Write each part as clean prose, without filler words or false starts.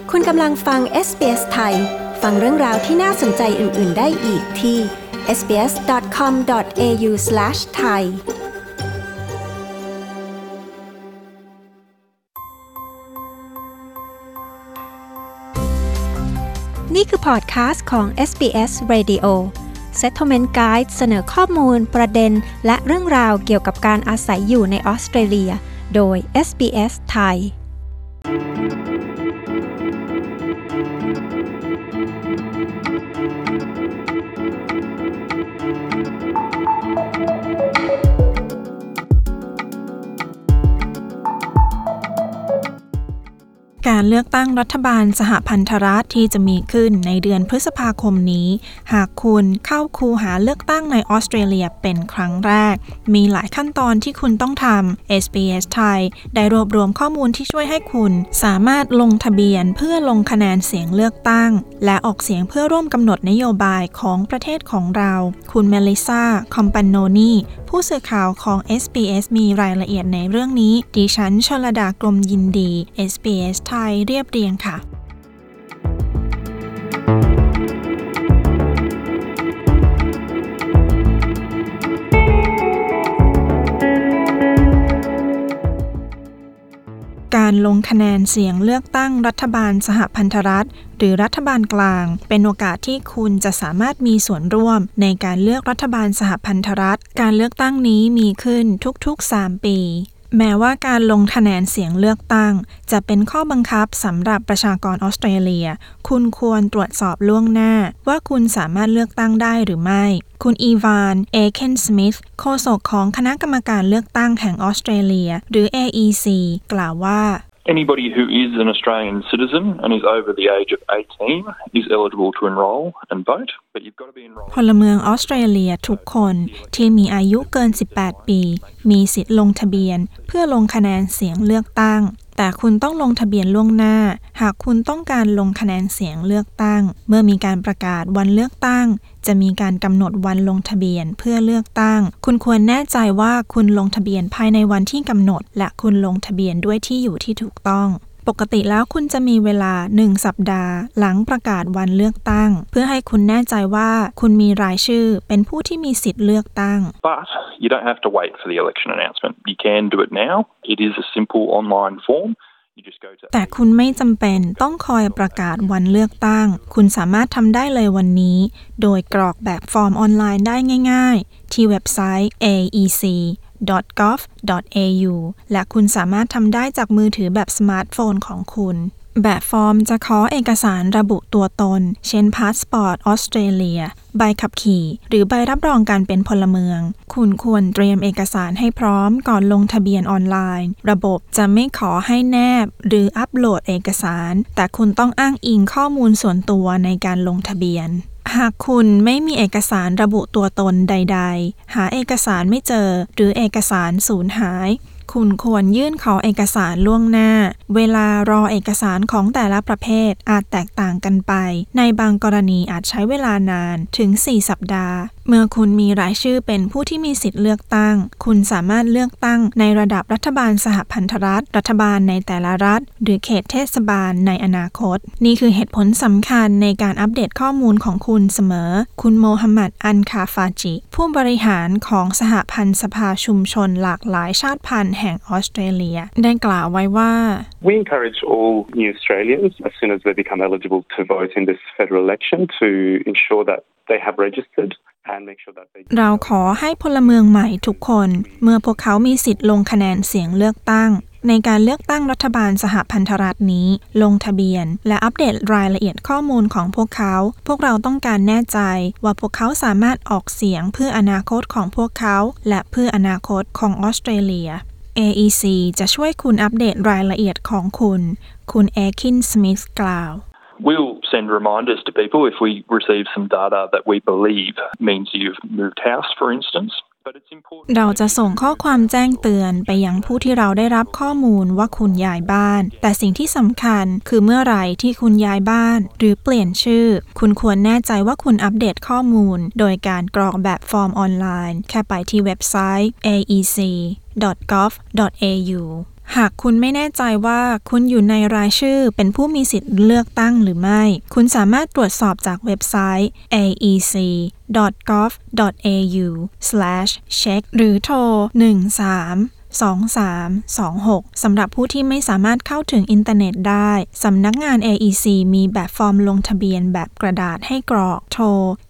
คุณกำลังฟัง SBS ไทยฟังเรื่องราวที่น่าสนใจอื่นๆได้อีกที่ sbs.com.au/thaiนี่คือพอดคาสต์ของ SBS Radio Settlement Guide เสนอข้อมูลประเด็นและเรื่องราวเกี่ยวกับการอาศัยอยู่ในออสเตรเลียโดย SBS ไทยการเลือกตั้งรัฐบาลสหพันธรัฐที่จะมีขึ้นในเดือนพฤษภาคมนี้หากคุณเข้าคูหาเลือกตั้งในออสเตรเลียเป็นครั้งแรกมีหลายขั้นตอนที่คุณต้องทำ SBS ไทยได้รวบรวมข้อมูลที่ช่วยให้คุณสามารถลงทะเบียนเพื่อลงคะแนนเสียงเลือกตั้งและออกเสียงเพื่อร่วมกำหนดนโยบายของประเทศของเราคุณเมลิซาคอมปานโนนีผู้สื่อข่าวของ SBS มีรายละเอียดในเรื่องนี้ดิฉันชลดากรมยินดี SBS ไทยเรียบเรียงค่ะการลงคะแนนเสียงเลือกตั้งรัฐบาลสหพันธรัฐหรือรัฐบาลกลางเป็นโอกาสที่คุณจะสามารถมีส่วนร่วมในการเลือกรัฐบาลสหพันธรัฐการเลือกตั้งนี้มีขึ้นทุกๆ3 ปีแม้ว่าการลงคะแนนเสียงเลือกตั้งจะเป็นข้อบังคับสำหรับประชากรออสเตรเลียคุณควรตรวจสอบล่วงหน้าว่าคุณสามารถเลือกตั้งได้หรือไม่คุณอีวาน เอเคนสมิธโฆษกของคณะกรรมการเลือกตั้งแห่งออสเตรเลียหรือ AEC กล่าวว่า Anybody who is an Australian citizen and is over the age of 18 is eligible to enrol and vote, but you've got to be enrolled. พลเมืองออสเตรเลียทุกคนที่มีอายุเกิน 18 ปีมีสิทธิ์ลงทะเบียนเพื่อลงคะแนนเสียงเลือกตั้งแต่คุณต้องลงทะเบียนล่วงหน้าหากคุณต้องการลงคะแนนเสียงเลือกตั้งเมื่อมีการประกาศวันเลือกตั้งจะมีการกำหนดวันลงทะเบียนเพื่อเลือกตั้งคุณควรแน่ใจว่าคุณลงทะเบียนภายในวันที่กำหนดและคุณลงทะเบียนด้วยที่อยู่ที่ถูกต้องปกติแล้วคุณจะมีเวลา1 สัปดาห์หลังประกาศวันเลือกตั้งเพื่อให้คุณแน่ใจว่าคุณมีรายชื่อเป็นผู้ที่มีสิทธิ์เลือกตั้ง But you don't have to wait for the election announcement. You can do it now. It is a simple online form. แต่คุณไม่จำเป็นต้องคอยประกาศวันเลือกตั้งคุณสามารถทำได้เลยวันนี้โดยกรอกแบบฟอร์มออนไลน์ได้ง่ายๆที่เว็บไซต์ aec.gov.au และคุณสามารถทำได้จากมือถือแบบสมาร์ทโฟนของคุณแบบฟอร์มจะขอเอกสารระบุตัวตนเช่นพาสปอร์ตออสเตรเลียใบขับขี่หรือใบรับรองการเป็นพลเมืองคุณควรเตรียมเอกสารให้พร้อมก่อนลงทะเบียนออนไลน์ระบบจะไม่ขอให้แนบหรืออัปโหลดเอกสารแต่คุณต้องอ้างอิงข้อมูลส่วนตัวในการลงทะเบียนหากคุณไม่มีเอกสารระบุตัวตนใดๆหาเอกสารไม่เจอหรือเอกสารสูญหายคุณควรยื่นขอเอกสารล่วงหน้าเวลารอเอกสารของแต่ละประเภทอาจแตกต่างกันไปในบางกรณีอาจใช้เวลานานถึง4 สัปดาห์เมื่อคุณมีรายชื่อเป็นผู้ที่มีสิทธิ์เลือกตั้งคุณสามารถเลือกตั้งในระดับรัฐบาลสหพันธรัฐรัฐบาลในแต่ละรัฐหรือเขตเทศบาลในอนาคตนี่คือเหตุผลสำคัญในการอัปเดตข้อมูลของคุณเสมอคุณโมฮัมหมัด อันคาฟาจิผู้บริหารของสหพันธ์สภาชุมชนหลากหลายชาติพันธุ์แห่งออสเตรเลียได้กล่าวไว้ว่า We encourage all new Australians as soon as they become eligible to vote in this federal election to ensure that they have registered เราขอให้พลเมืองใหม่ทุกคนเมื่อพวกเขามีสิทธิ์ลงคะแนนเสียงเลือกตั้งในการเลือกตั้งรัฐบาลสหพันธรัฐนี้ลงทะเบียนและอัปเดตรายละเอียดข้อมูลของพวกเขาพวกเราต้องการแน่ใจว่าพวกเขาสามารถออกเสียงเพื่ออนาคตของพวกเขาและเพื่ออนาคตของออสเตรเลีย AEC จะช่วยคุณอัปเดตรายละเอียดของคุณเอคินสมิธกล่าว We'll send reminders to people if we receive some data that we believe means you've moved house, for instance. เราจะส่งข้อความแจ้งเตือนไปยังผู้ที่เราได้รับข้อมูลว่าคุณย้ายบ้านแต่สิ่งที่สำคัญคือเมื่อไหร่ที่คุณย้ายบ้านหรือเปลี่ยนชื่อคุณควรแน่ใจว่าคุณอัปเดตข้อมูลโดยการกรอกแบบฟอร์มออนไลน์แค่ไปที่เว็บไซต์ aec.gov.au หากคุณไม่แน่ใจว่าคุณอยู่ในรายชื่อเป็นผู้มีสิทธิ์เลือกตั้งหรือไม่คุณสามารถตรวจสอบจากเว็บไซต์ aec.gov.au/check หรือโทร 132326 สำหรับผู้ที่ไม่สามารถเข้าถึงอินเทอร์เน็ตได้สำนักงาน AEC มีแบบฟอร์มลงทะเบียนแบบกระดาษให้กรอกโทร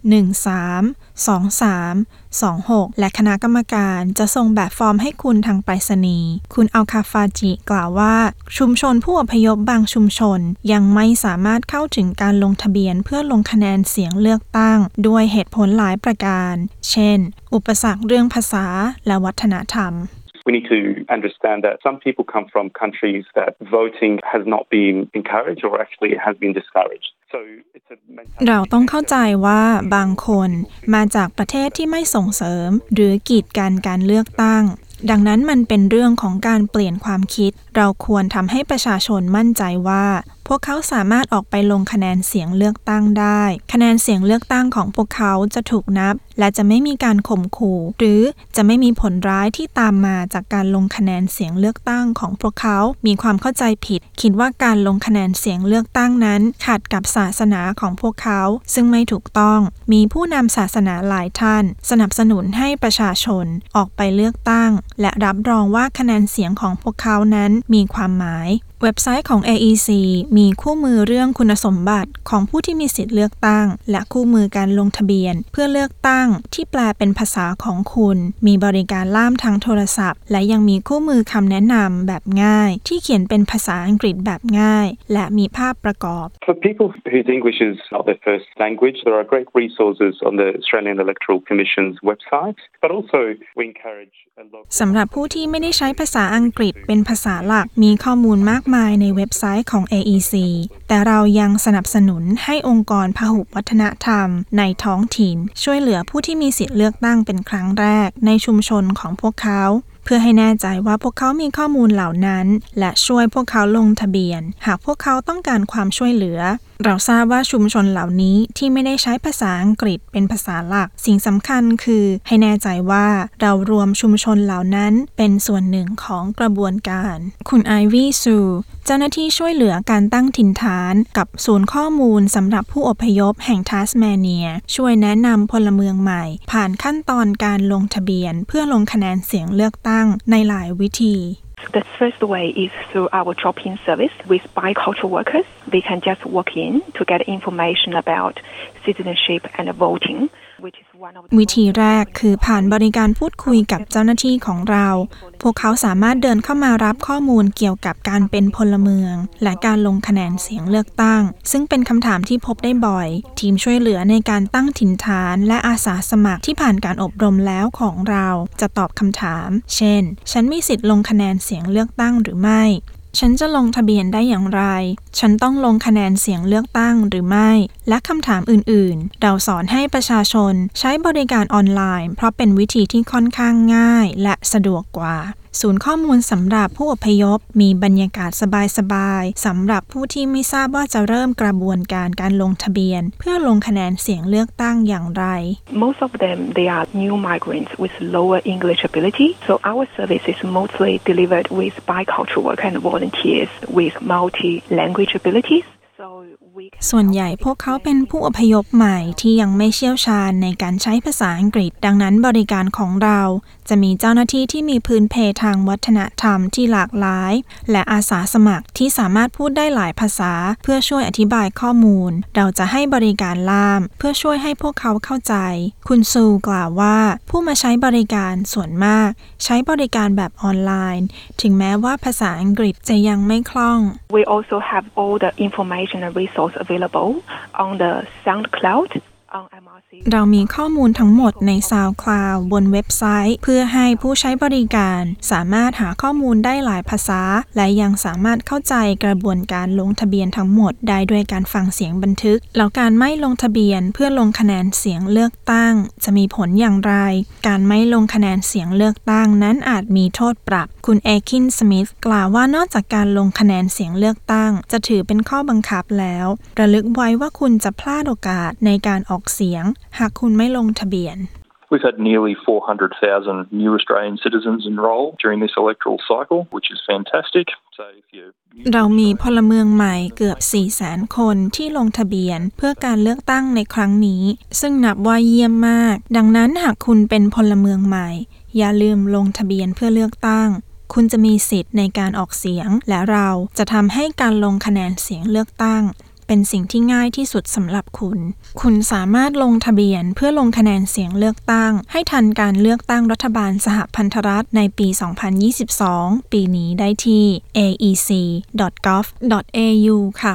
132326 และคณะกรรมการจะส่งแบบฟอร์มให้คุณทางไปรษณีย์คุณอัลคาฟาจิกล่าวว่าชุมชนผู้อพยพบางชุมชนยังไม่สามารถเข้าถึงการลงทะเบียนเพื่อลงคะแนนเสียงเลือกตั้งด้วยเหตุผลหลายประการเช่นอุปสรรคเรื่องภาษาและวัฒนธรรม We need to understand that some people come from countries that voting has not been encouraged or actually has been discouraged. So it's a เราต้องเข้าใจว่าบางคนมาจากประเทศที่ไม่ส่งเสริมหรือกีดกันการเลือกตั้งดังนั้นมันเป็นเรื่องของการเปลี่ยนความคิดเราควรทำให้ประชาชนมั่นใจว่าพวกเขาสามารถออกไปลงคะแนนเสียงเลือกตั้งได้คะแนนเสียงเลือกตั้งของพวกเขาจะถูกนับและจะไม่มีการข่มขู่หรือจะไม่มีผลร้ายที่ตามมาจากการลงคะแนนเสียงเลือกตั้งของพวกเขามีความเข้าใจผิดคิดว่าการลงคะแนนเสียงเลือกตั้งนั้นขัดกับศาสนาของพวกเขาซึ่งไม่ถูกต้องมีผู้นำศาสนาหลายท่านสนับสนุนให้ประชาชนออกไปเลือกตั้งและรับรองว่าคะแนนเสียงของพวกเขานั้นมีความหมายเว็บไซต์ของ AEC มีคู่มือเรื่องคุณสมบัติของผู้ที่มีสิทธิ์เลือกตั้งและคู่มือการลงทะเบียนเพื่อเลือกตั้งที่แปลเป็นภาษาของคุณมีบริการล่ามทางโทรศัพท์และยังมีคู่มือคำแนะนำแบบง่ายที่เขียนเป็นภาษาอังกฤษแบบง่ายและมีภาพประกอบ For people whose English is not their first language, there are great resources on the Australian Electoral Commission's website, but also we encourage สำหรับผู้ที่ไม่ได้ใช้ภาษาอังกฤษเป็นภาษาหลักมีข้อมูลมากมายในเว็บไซต์ของ AEC แต่เรายังสนับสนุนให้องค์กรพหุวัฒนธรรมในท้องถิ่นช่วยเหลือผู้ที่มีสิทธิ์เลือกตั้งเป็นครั้งแรกในชุมชนของพวกเขาเพื่อให้แน่ใจว่าพวกเขามีข้อมูลเหล่านั้นและช่วยพวกเขาลงทะเบียนหากพวกเขาต้องการความช่วยเหลือเราทราบว่าชุมชนเหล่านี้ที่ไม่ได้ใช้ภาษาอังกฤษเป็นภาษาหลักสิ่งสำคัญคือให้แน่ใจว่าเรารวมชุมชนเหล่านั้นเป็นส่วนหนึ่งของกระบวนการคุณไอวี่ซูเจ้าหน้าที่ช่วยเหลือการตั้งถิ่นฐานกับศูนย์ข้อมูลสำหรับผู้อพยพแห่งทัสเมเนียช่วยแนะนำพลเมืองใหม่ผ่านขั้นตอนการลงทะเบียนเพื่อลงคะแนนเสียงเลือกตั้งในหลายวิธี The first way is through our drop-in service with bicultural workers. They can just walk in to get information about citizenship and voting. วิธีแรกคือผ่านบริการพูดคุยกับเจ้าหน้าที่ของเราพวกเขาสามารถเดินเข้ามารับข้อมูลเกี่ยวกับการเป็นพลเมืองและการลงคะแนนเสียงเลือกตั้งซึ่งเป็นคำถามที่พบได้บ่อยทีมช่วยเหลือในการตั้งถิ่นฐานและอาสาสมัครที่ผ่านการอบรมแล้วของเราจะตอบคำถามเช่นฉันมีสิทธิ์ลงคะแนนเสียงเลือกตั้งหรือไม่ฉันจะลงทะเบียนได้อย่างไรฉันต้องลงคะแนนเสียงเลือกตั้งหรือไม่และคำถามอื่นๆเราสอนให้ประชาชนใช้บริการออนไลน์เพราะเป็นวิธีที่ค่อนข้างง่ายและสะดวกกว่าศูนย์ข้อมูลสำหรับผู้อพยพมีบรรยากาศสบายๆสำหรับผู้ที่ไม่ทราบว่าจะเริ่มกระบวนการลงทะเบียนเพื่อลงคะแนนเสียงเลือกตั้งอย่างไร Most of them they are new migrants with lower English ability, so our service is mostly delivered with bicultural workers and volunteers with multi-language abilities. ส่วนใหญ่พวกเขาเป็นผู้อพยพใหม่ที่ยังไม่เชี่ยวชาญในการใช้ภาษาอังกฤษดังนั้นบริการของเราจะมีเจ้าหน้าที่ที่มีพื้นเพทางวัฒนธรรมที่หลากหลายและอาสาสมัครที่สามารถพูดได้หลายภาษาเพื่อช่วยอธิบายข้อมูลเราจะให้บริการล่ามเพื่อช่วยให้พวกเขาเข้าใจคุณซูกล่าวว่าผู้มาใช้บริการส่วนมากใช้บริการแบบออนไลน์ถึงแม้ว่าภาษาอังกฤษจะยังไม่คล่อง We also have all the information and resource available on the SoundCloud on MRC เรามีข้อมูลทั้งหมดใน SoundCloud บนเว็บไซต์เพื่อให้ผู้ใช้บริการสามารถหาข้อมูลได้หลายภาษาและยังสามารถเข้าใจกระบวนการลงทะเบียนทั้งหมดได้ด้วยการฟังเสียงบันทึกแล้วการไม่ลงทะเบียนเพื่อลงคะแนนเสียงเลือกตั้งจะมีผลอย่างไรการไม่ลงคะแนนเสียงเลือกตั้งนั้นอาจมีโทษปรับคุณเอคินสมิธกล่าวว่านอกจากการลงคะแนนเสียงเลือกตั้งจะถือเป็นข้อบังคับแล้วระลึกไว้ว่าคุณจะพลาดโอกาสในการออกเสียงหากคุณไม่ลงทะเบียน We've had nearly 400,000 new Australian citizens enrol during this electoral cycle, which is fantastic. So if you เรามีพลเมืองใหม่เกือบ 400,000 คนที่ลงทะเบียนเพื่อการเลือกตั้งในครั้งนี้ซึ่งนับว่าเยี่ยมมากดังนั้นหากคุณเป็นพลเมืองใหม่อย่าลืมลงทะเบียนเพื่อเลือกตั้งคุณจะมีสิทธิ์ในการออกเสียงและเราจะทำให้การลงคะแนนเสียงเลือกตั้งเป็นสิ่งที่ง่ายที่สุดสำหรับคุณสามารถลงทะเบียนเพื่อลงคะแนนเสียงเลือกตั้งให้ทันการเลือกตั้งรัฐบาลสหพันธรัฐในปี 2022 ปีนี้ได้ที่ aec.gov.au ค่ะ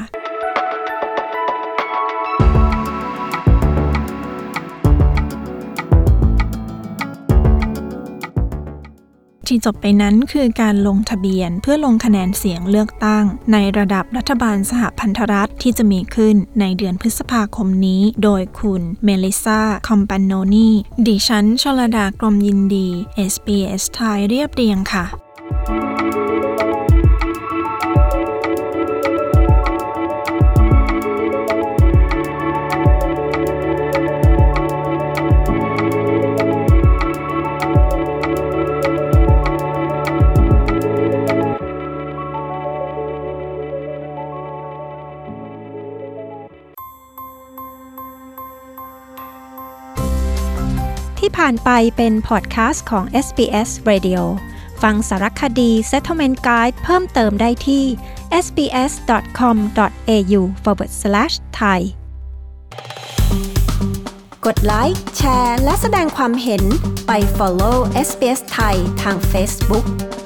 ที่จบไปนั้นคือการลงทะเบียนเพื่อลงคะแนนเสียงเลือกตั้งในระดับรัฐบาลสหพันธรัฐที่จะมีขึ้นในเดือนพฤษภาคมนี้โดยคุณเมลิซาคอมปานโนนีดิฉันชลดากรมยินดี SBS ไทยเรียบเรียงค่ะที่ผ่านไปเป็นพอดแคสต์ของ SBS Radio ฟังสารคดี Settlement Guide เพิ่มเติมได้ที่ sbs.com.au/thai กดไลค์แชร์และแสดงความเห็นไป follow SBS Thai ทาง Facebook